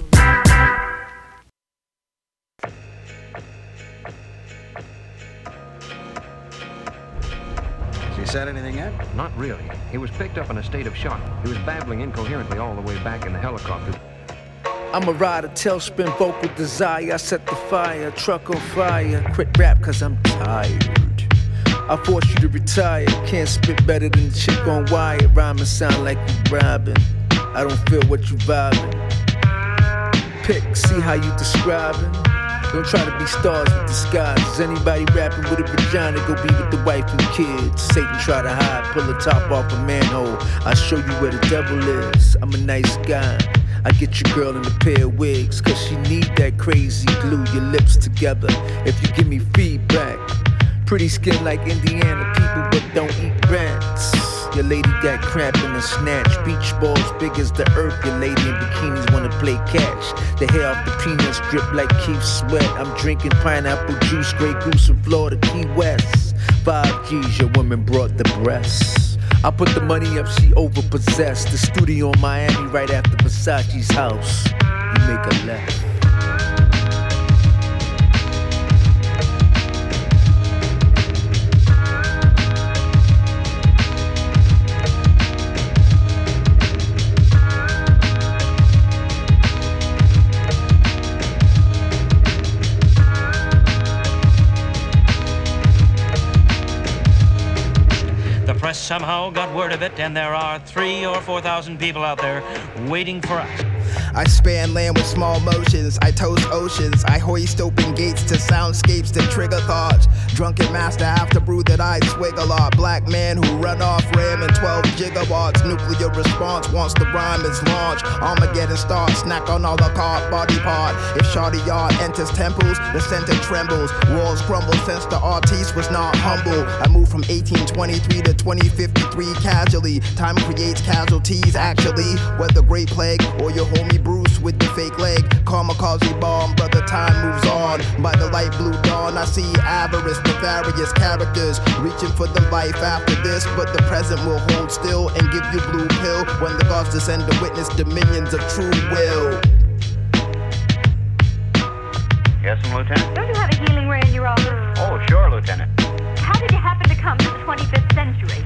S6: Has he said anything yet? Not really. He was picked up in a state of shock. He was babbling incoherently all the way back in the helicopter.
S7: I'm a rider, tailspin, vocal desire. I set the fire, truck on fire. Quit rap cause I'm tired. I force you to retire. Can't spit better than the chick on wire. Rhyming sound like you robbing. I don't feel what you vibing. Pick, see how you describing. Don't try to be stars with disguises. Anybody rapping with a vagina, go be with the wife and kids. Satan try to hide, pull the top off a manhole. I show you where the devil is. I'm a nice guy. I get your girl in a pair of wigs, cause she need that crazy glue, your lips together. If you give me feedback. Pretty skin like Indiana people, but don't eat rats. Your lady got cramp in the snatch. Beach balls big as the earth. Your lady in bikinis wanna play catch. The hair off the peanuts drip like Keith Sweat. I'm drinking pineapple juice, Grey Goose in Florida, Key West. Five G's, your woman brought the breasts. I put the money up, she overpossessed. The studio in Miami right after Versace's house. You make a left.
S24: Somehow got word of it, and there are three or four thousand people out there waiting for us.
S25: I span land with small motions, I toast oceans, I hoist open gates to soundscapes that trigger thoughts. Drunken master after brew that I swig a lot. Black man who run off RAM in twelve gigawatts. Nuclear response once the rhyme is launched. Armageddon starts, snack on all the car body part. If Shawty Yard enters temples, the center trembles. Walls crumble since the artiste was not humble. I moved from eighteen twenty-three to twenty fifty-three casually. Time creates casualties actually. Whether Great Plague or your homie Bruce with the fake leg. Kamikaze bomb, brother, time moves on. By the light blue dawn, I see avarice, nefarious characters reaching for the life after this, but the present will hold still and give you blue pill when the gods descend to witness dominions of true will.
S26: Yes, Lieutenant?
S27: Don't you have a healing ray in your office?
S26: Oh, sure, Lieutenant.
S27: How did you happen to come to the twenty-fifth century?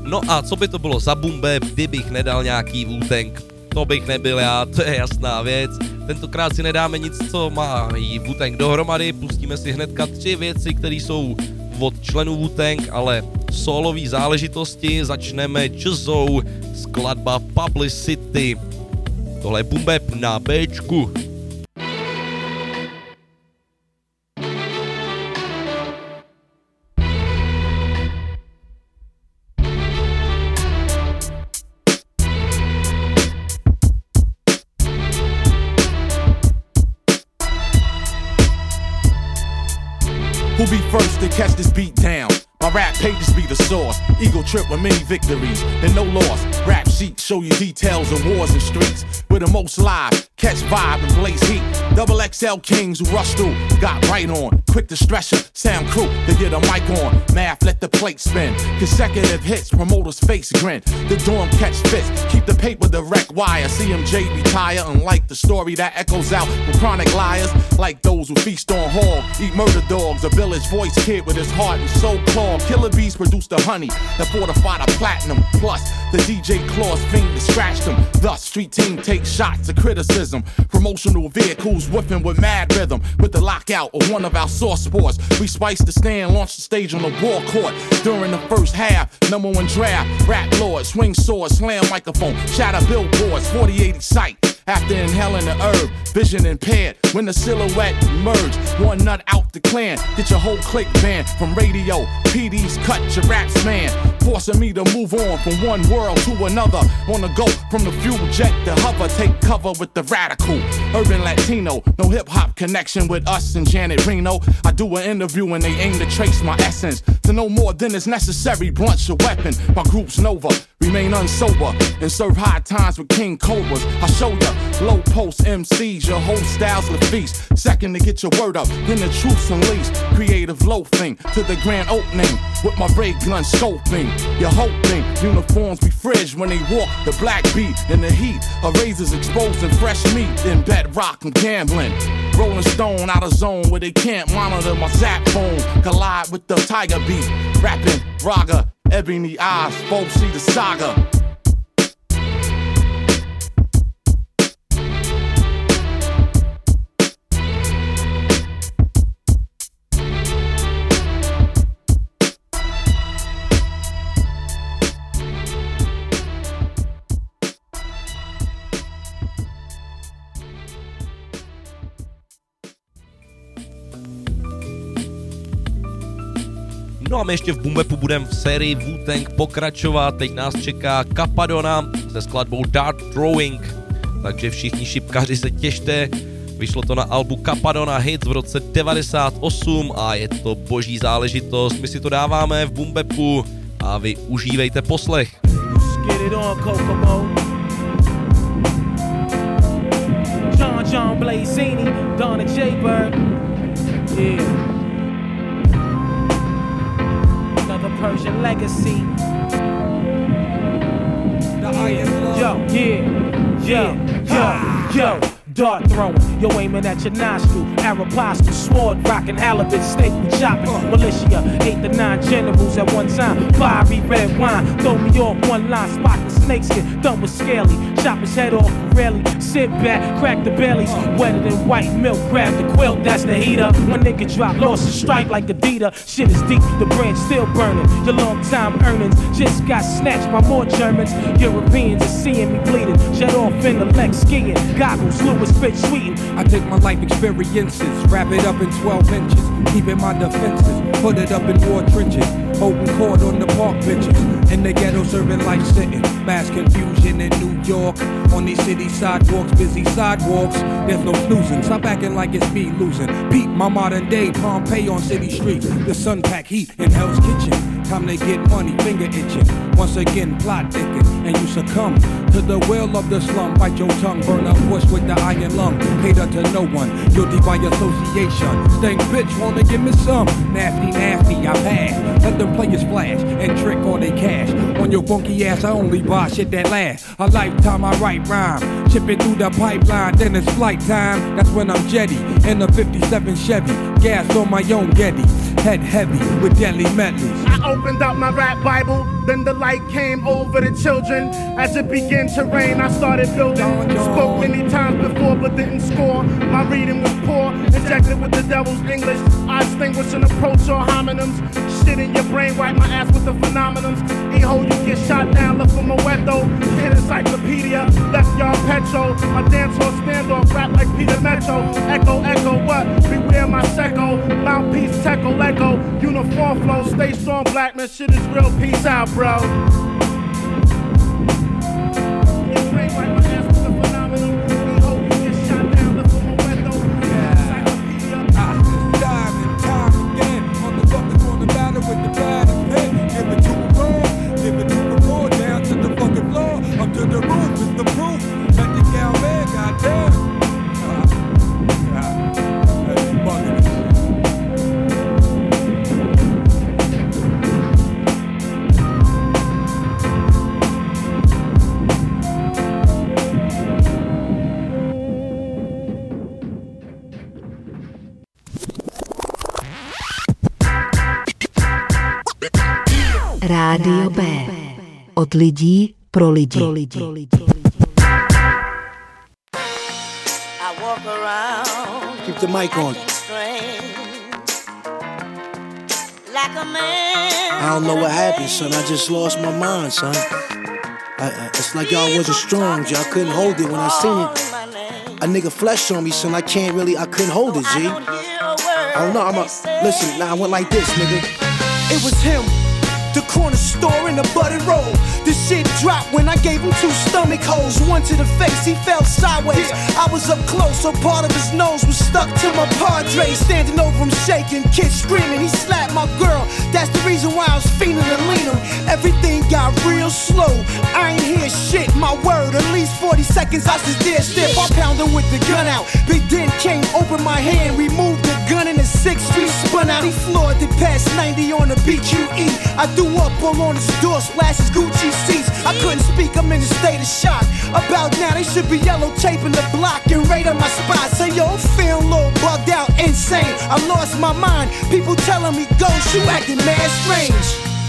S2: No a co by to bylo za boom bap, kdybych nedal nějaký Wu-Tang? To bych nebyl já, to je jasná věc. Tentokrát si nedáme nic, co má jí Wu-Tang dohromady, pustíme si hnedka tři věci, které jsou od členů Wu-Tang, ale solový záležitosti. Začneme jazzou, skladba Publicity. Tohle je boom bap na Bčku.
S3: Who be first to catch this beat down? My rap pages be the source. Eagle trip with many victories, then no loss. Rap sheets show you details of wars and streets. We're the most live, catch vibe and blaze heat. Double X L kings who rush through, got right on. Quick to stretcher, sound crew to get a mic on. Math, let the plate spin. Consecutive hits, promoters face grin. The dorm catch fits, keep the paper direct wire. C M J retire, unlike the story that echoes out with chronic liars. Like those who feast on hog, eat murder dogs. A village voice kid with his heart and soul clogged. Killer bees produce the honey that fortified the platinum. Plus, the D J claws fiend that scratched them. Thus, street team takes shots of criticism. Promotional vehicles whipping with mad rhythm. With the lockout of one of our source sports, we spice the stand, launch the stage on the war court. During the first half, number one draft, rap lord, swing sword, slam microphone, shatter billboards, forty eighty sight. After inhaling the herb, vision impaired. When the silhouette emerged, one nut out the clan. Get your whole clique banned from radio. P Ds cut your raps, man. Forcing me to move on from one world to another. On the go from the fuel jet to hover. Take cover with the radical. Urban Latino. No hip hop connection with us and Janet Reno. I do an interview and they aim to trace my essence. To know more than is necessary, blunt's your weapon. My group's Nova. Remain unsober and serve high times with King Cobras. I show ya low post M Cs, your whole style's the feast. Second to get your word up, then the truth's unleashed. Creative loafing to the grand opening with my ray gun scoping. You're hoping uniforms be fridge when they walk the black beat in the heat. A razors exposing fresh meat in bedrock and gambling. Rolling stone out of zone where they can't monitor my zap phone. Collide with the tiger beat. Rapping Raga, ebony eyes, folks see the saga.
S2: No a my ještě v boom bapu budeme v sérii Wu-Tang pokračovat. Teď nás čeká Capadona se skladbou Dart Throwing. Takže všichni šipkaři se těšte. Vyšlo to na albu Capadona Hits v roce devadesát osm a je to boží záležitost. My si to dáváme v boom bapu a vy užívejte poslech.
S15: Get it on, Kokomo. John John Blazini, Donna J. Bird. Yeah. Persian legacy. The iron yo, yeah, yo, yo, yo. Dart throwing, yo aiming at your nostril. Arapasto, sword rocking, halibut, steak with chopping. Militia, eight to nine generals at one time. Fiery red wine, throw me off one line. Spot the snakeskin, done with scaly. Chop his head off, rarely. Sit back, crack the bellies. Wetter than white milk, grab the quilt, that's the heater. One nigga drop, lost a strike like Adidas. Shit is deep, the branch still burning. Your long time earnings just got snatched by more Germans. Europeans are seeing me bleeding. Jet off in the Lex skiing. Goggles, Louis Fitch sweetin'.
S5: I take my life experiences, wrap it up in twelve inches. Keeping my defenses, put it up in war trenches. Holding court on the park benches. In the ghetto serving life sitting. Mass confusion in New York. On these city sidewalks, busy sidewalks. There's no snoozing, stop acting like it's me losing. Pete, my modern day Pompeii on city streets. The sun pack heat in Hell's Kitchen. Time to get money, finger itching. Once again, plot thicken, and you succumb to the will of the slum. Bite your tongue, burn up bush with the iron lung. Cater to no one, guilty by association. Stank bitch, wanna give me some? Nasty, nasty, I pass. Let them players flash and trick all they cash. On your funky ass, I only buy shit that lasts. A lifetime, I write rhyme. Ship it through the pipeline, then it's flight time. That's when I'm jetty in a fifty-seven Chevy. gas on my own Getty. Head heavy with deadly medleys.
S8: I opened up my rap Bible, then the light came over the children. As it began to rain, I started building. Spoke many times before, but didn't score. My reading was poor, injected with the devil's English. I extinguish and approach all homonyms. Shit in your brain, wipe my ass with the phenomenons. E-ho, you get shot down, look for Moeto. Hit encyclopedia, left y'all petrol. My dance hall standoff, rap like Peter Metro. Echo, echo, what? Beware my secco. Mouthpiece, techo, Lego. Uniform flow, stay strong, black man. Shit is real, peace out, bro. Your brain, wipe my ass with the phenomenon. E-ho, you get shot down, look for Moeto. Encyclopedia.
S5: I just dive and time again. On the fucking corner battle with the bad and pen. Give it to a raw, give it to a raw. Down to the fucking floor, up to the roof is the proof. Let the gal man, goddamn. Uh, uh, that's bugging.
S10: Rádio B. Od lidí pro lidi. Pro lidi. Pro lidi.
S22: Keep the mic on. I don't know what happened, son. I just lost my mind, son. I, I, it's like y'all wasn't strong, G. I couldn't hold it when I seen it. A nigga flesh on me, son. I can't really, I couldn't hold it, G. I don't know, I'm a, listen, now I went like this, nigga.
S9: It was him. The corner store in the button roll. The shit dropped when I gave him two stomach holes. One to the face, he fell sideways. I was up close, so part of his nose was stuck to my Padre. Standing over him shaking, kids screaming. He slapped my girl. That's the reason why I was feeling to lean him. Everything got real slow. I ain't hear shit, my word. At least forty seconds I stood there stiff. I pounded with the gun out. Big Den came, opened my hand, removed the gun in the sixth street, spun out. He floored it past ninety on the B Q E. I threw up all on his door, splashes Gucci seats. I couldn't speak, I'm in a state of shock. About now, they should be yellow taping the block and right on my spot. Say, yo, I'm feeling a little bugged out, insane. I lost my mind. People telling me, go, you acting mad strange.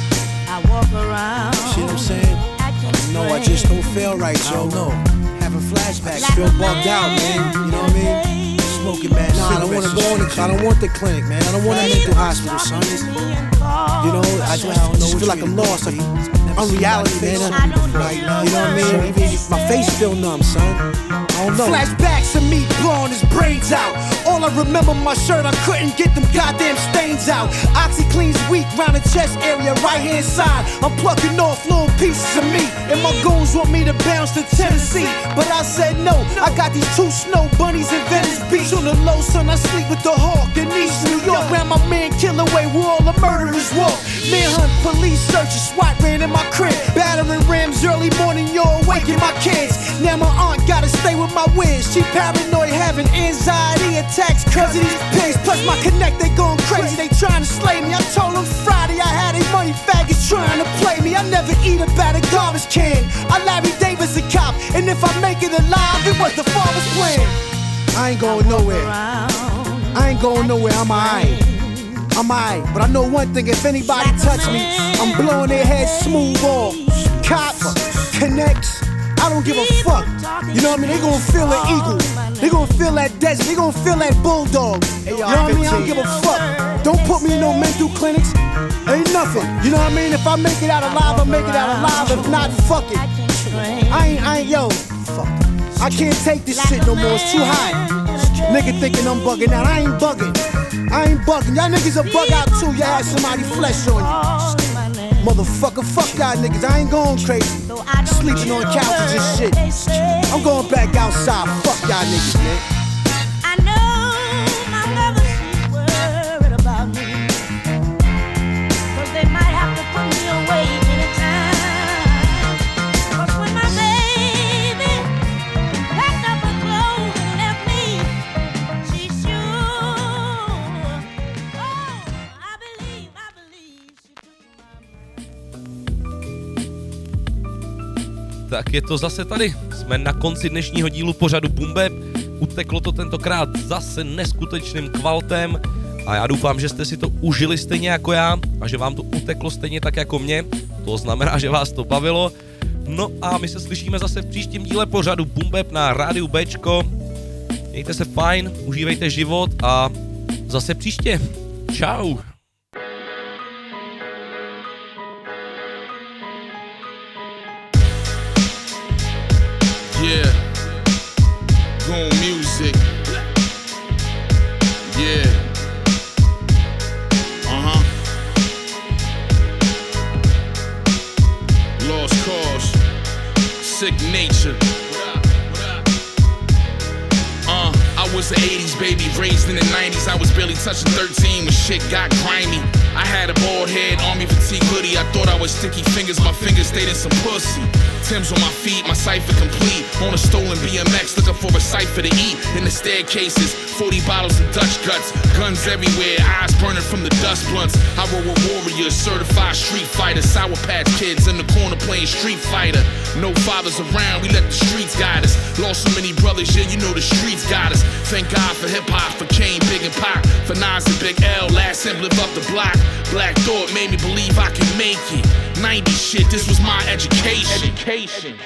S22: I walk around. See what I'm saying? No, I just don't feel right, yo. I don't know. Having flashbacks, feel bugged out, man. You know what I mean? Smoking bad nah, I don't want to go in the, I don't want the clinic, man. I don't want that mental hospital, son. It's, you know, I just, I just feel like I'm lost. Like, I'm reality, man. Like, you know what I mean? My face still numb, son. I don't know.
S9: Flashbacks of me blowing his brains out. All I remember my shirt, I couldn't get them goddamn stains out. OxyClean's weak round the chest area, right hand side. I'm plucking off little pieces of me. And my goons want me to bounce to Tennessee, but I said no. I got these two snow bunnies in Venice Beach. On the low, son, I sleep with the hawk in East New York. Ran my man Killaway where all the murderers walk. Manhunt, police searches, SWAT ran in my crib. Battering rams early morning, you're awaking my kids. Now my aunt gotta stay with my whiz. She paranoid, having anxiety attacks cause of these pigs. Plus my connect, they going crazy, they trying to slay me. I told them Friday I had a money faggots trying to play me. I never eat about a garbage can. I Larry Davis a cop, and if I make it alive, it was the father's plan.
S22: I ain't going nowhere. I ain't going nowhere, I'm alright. I'm alright, but I know one thing, if anybody touch me, I'm blowing their heads smooth off. Cops, connects, I don't give a fuck. You know what I mean? They gon' feel the eagle. They gon' feel that desert. They gon' feel that bulldog. You know what I mean? I don't give a fuck. Don't put me in no mental clinics. Ain't nothing. You know what I mean? If I make it out alive, I make it out alive. If not, fuck it. I ain't, I ain't, yo, fuck. I can't take this shit no more. It's too high. Nigga thinking I'm bugging out. I ain't bugging. I ain't bugging. Y'all niggas a bug out too. Y'all had somebody flesh on you. Motherfucker, fuck y'all niggas. I ain't going crazy. Sleeping on couches and shit. I'm going back outside. Fuck y'all niggas, man.
S11: I know my mother, she's worried about me. Cause they might have to put me away anytime. Cause when my baby packed up her clothes and left me, she sure, oh, I believe, I believe she
S2: Tak je to zase tady. Jsme na konci dnešního dílu pořadu Boom Bap. Uteklo to tentokrát zase neskutečným kvaltem. A já doufám, že jste si to užili stejně jako já a že vám to uteklo stejně tak jako mě. To znamená, že vás to bavilo. No a my se slyšíme zase v příštím díle pořadu Boom Bap na rádiu Bčko. Mějte se fajn, užívejte život a zase příště. Čau.
S1: Yeah, Goon Music. Yeah. Uh-huh. Lost Cause. Sick Nature. Uh, I was the eighties baby, raised in the nineties. I was barely touching thirteen when shit got grimy. I had a bald head, army fatigue hoodie. I thought I was sticky fingers, my fingers stayed in some pussy. Tim's on my feet, my cipher complete. On a stolen B M X, looking for a cipher to eat. In the staircases, forty bottles of Dutch guts. Guns everywhere, eyes burning from the dust blunts. I roll with warriors, certified street fighters. Sour Patch Kids in the corner playing Street Fighter. No fathers around, we let the streets guide us. Lost so many brothers, yeah, you know the streets got us. Thank God for hip-hop, for Kane, Big and Pac. For Nas and Big L, last him live up the block. Black Thought made me believe I could make it. nineties shit, this was my education. Education.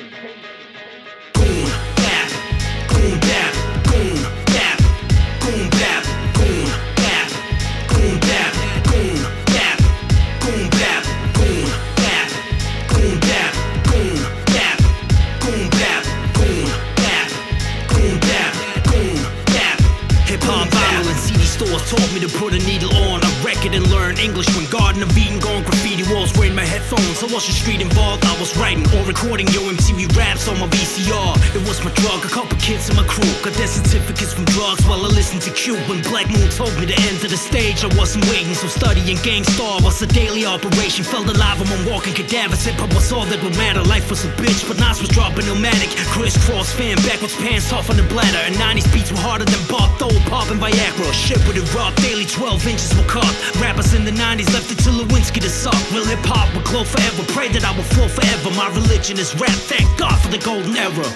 S1: Goon bap, goon bap, goon bap, goon bap, goon bap, goon bap, goon bap, goon bap, goon bap, goon bap, goon bap, goon bap, goon bap, goon bap, goon bap. Hip hop vinyl and C D stores taught me to put a needle on a record and learn English. When Garden of Eden gone graffiti walls were in my headphones. I wasn't street involved, I was writing or recording Yo M T V raps on my V C R. It was my drug, a couple kids in my crew got their certificates from drugs while I listened to Q. When Black Moon told me to enter the stage, I wasn't waiting, so studying Gang Starr was a daily operation. Felt alive among walking cadavers. Hip hop was all that would matter. Life was a bitch, but Nas was dropping Illmatic. Crisscross fan, backwards pants off on the bladder. And nineties beats were harder than Bob Thole, popping Viagra. Shit with it rock, daily twelve inches were cut. Rappers in the nineties left it to Lewinsky to suck. Real hip hop would glow forever. Pray that I will flow forever. My religion is rap. Thank God for the golden era.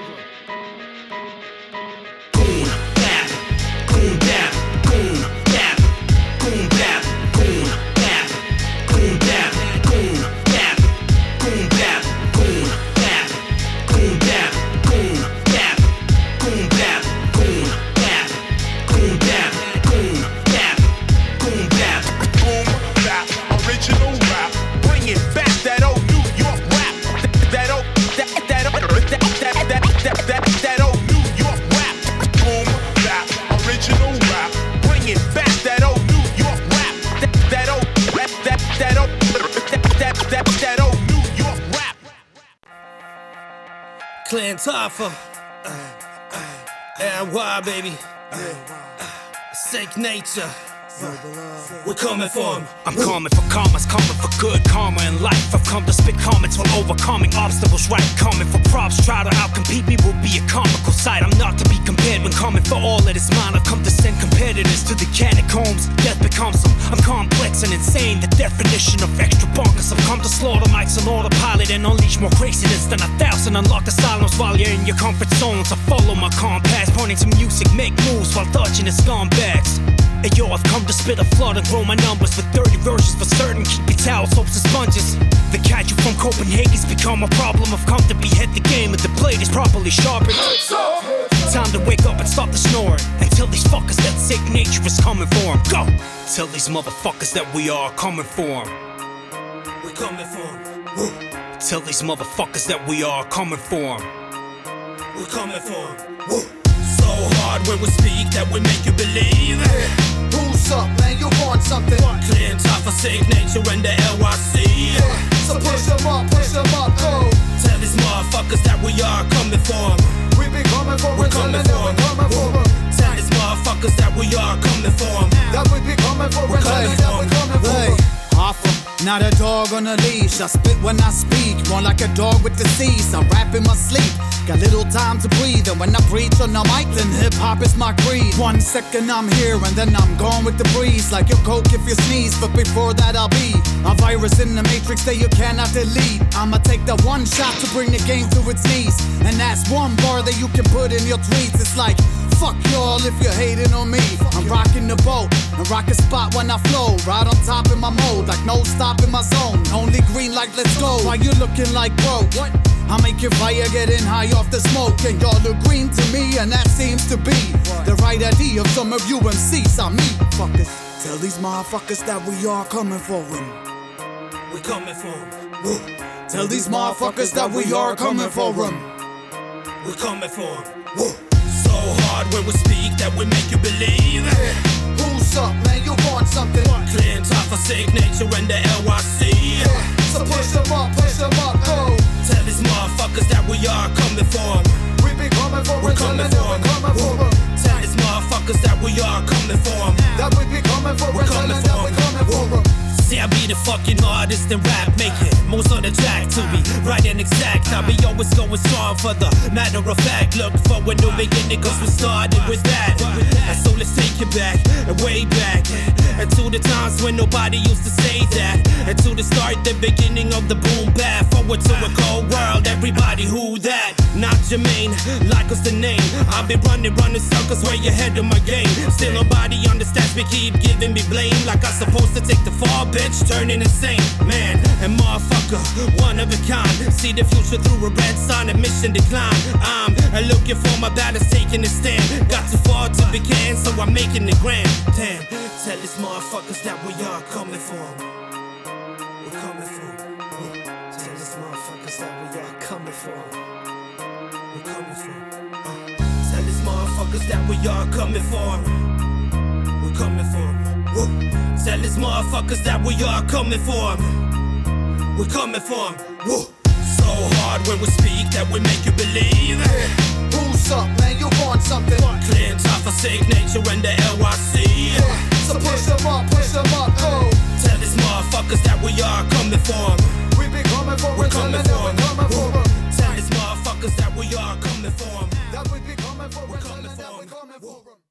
S1: Goon bap, goon bap, goon bap, goon bap, goon bap, goon bap, goon bap, goon bap, goon bap, goon bap, goon bap, goon bap, goon bap, goon bap, goon bap, goon bap, boom bap, original rap. Bring it back, that old New York rap. That old, that, that, that, that, that, that, that, that old New York rap. Boom bap, original rap. Bring it back, that old New York rap. That, that old, that, that, that old, that, that, that, that old New York rap.
S12: Clan Taffa, uh, uh, N Y baby, uh, Sick Nature. We're coming for him. I'm coming for commas, coming for good karma in life. I've come to spit comments while overcoming obstacles, right? Coming for props, try to outcompete me will be a comical sight. I'm not to be compared when coming for all that is mine. I've come to send competitors to the catacombs. Death becomes them. I'm complex and insane, the definition of extra bonkers. I've come to slaughter mics on autopilot and unleash more craziness than a thousand. Unlock the silence while you're in your comfort zones. I follow my compass, pointing to music, make moves while dodging the scumbags. Hey yo, I've come to spit a flood and grow my numbers with thirty verses for certain. Keep your towels, soaps and sponges. The kaiju from Copenhagen's become a problem. I've come to behead the game and the blade is properly sharpened. Time to wake up and stop the snoring and tell these fuckers that Sick Nature is coming for them. Go! Tell these motherfuckers that we are coming for them. We're coming for them. Woo. Tell these motherfuckers that we are coming for them. We're coming for them. Woo. So hard when we speak that we make you believe.
S13: Who's up, man? You want something?
S12: Clean top for Sick Nature and the L Y C.
S13: Yeah. So push them up, push them up, go.
S12: Tell these motherfuckers that we are coming for them.
S13: We be coming for
S12: we're coming for them.
S13: Coming for them.
S12: Tell these motherfuckers that we are coming for them.
S13: That we be coming for
S12: we're coming for them.
S13: Alpha, not a dog on a leash. I spit when I speak, more like a dog with disease. I rap in my sleep, got little time to breathe. And when I preach on the mic, then hip-hop is my creed. One second I'm here and then I'm gone with the breeze. Like your coke if you sneeze, but before that I'll be a virus in the matrix that you cannot delete. I'ma take the one shot to bring the game to its knees. And that's one bar that you can put in your tweets. It's like Fuck y'all if you're hating on me. I'm rocking the boat, and rock a spot when I flow. Right on top in my mode, like no stop in my zone. Only green like let's go. Why you looking like broke? What? I make your fire getting high off the smoke. And y'all look green to me, and that seems to be the right idea of some of you M Cs. I mean, fuckers. Tell these motherfuckers that we are coming for them. We coming for them. Woo. Tell these motherfuckers that we are coming for them. We coming for them. Woo. So hard when we speak that we make you believe. Yeah. Who's up, man? You want something? Clean top for sick nature and the L Y C. Yeah. So push them up, push them up, go. Tell these motherfuckers that we are coming for them. We be coming for them, coming for them. Tell these motherfuckers that we are coming for them. That we be coming for them, coming for them. See, I be the fucking hardest in rap, making most on the track to be right and exact. I be always going strong for the matter of fact. Look for a new beginning, cause we started with that. And so let's take it back, and way back. And to the times when nobody used to say that. And to the start, the beginning of the boom bap. Forward to a cold world, everybody who that? Not Jermaine, like us the name. I be running, running circles way ahead of my game. Still nobody understands me, keep giving me blame. Like I'm supposed to take the fall, bitch, turning insane. Man, and motherfucker, one of a kind. See the future through a red sign, admission decline. I'm looking for my balance, taking a stand. Got too far to begin, so I'm making it grand. Damn, tell these motherfuckers that we are coming for. We're coming for. Tell these motherfuckers that we are coming for. We're coming for. Uh, tell these motherfuckers that we are coming for. We're coming for. Woo. Tell these motherfuckers that we are coming for. We're coming for. Woo. So hard when we speak that we make you believe. Yeah. Who's up, man? You want something? Clean top for sick nature and the L Y C. Yeah. So push them up, push them up, go. Tell these motherfuckers that we are coming for. We be coming for. We're coming for. Coming for. Tell these motherfuckers that we are coming for. That we be coming for. We're coming for. We're coming for.